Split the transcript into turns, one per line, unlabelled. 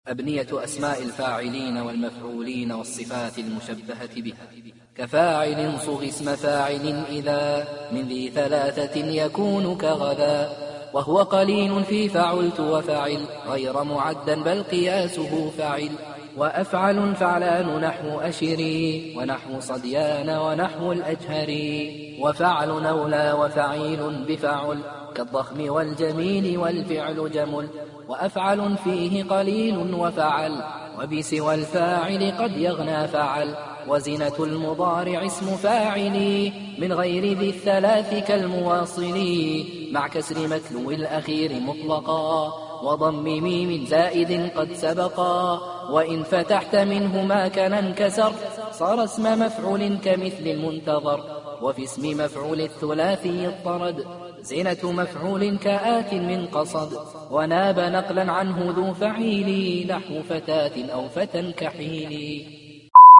أبنية أسماء الفاعلين والمفعولين والصفات المشبهة بها. كفاعل صغ اسم فاعل إذا من ذي ثلاثة يكون كغدا، وهو قليل في فعلت وفعل غير معدا بل قياسه فعل. وأفعل فعلان نحو أشري ونحو صديان ونحو الأجهري. وفعل نولى وفعيل بفعل كالضخم والجميل والفعل جمل. وأفعل فيه قليل وفعل وبسوى الفاعل قد يغنى فعل. وزنة المضارع اسم فاعل من غير ذي الثلاث كالمواصل مع كسر متلو الأخير مطلقا وضم ميم زائد قد سبقا. وإن فتحت منه ما كان انكسر صار اسم مفعول كمثل المنتظر. وفي اسم مفعول الثلاثي اضطرد زنة مفعول كآت من قصد. وناب نقلا عنه ذو فعيل نحو فتاة أو فتى كحيل.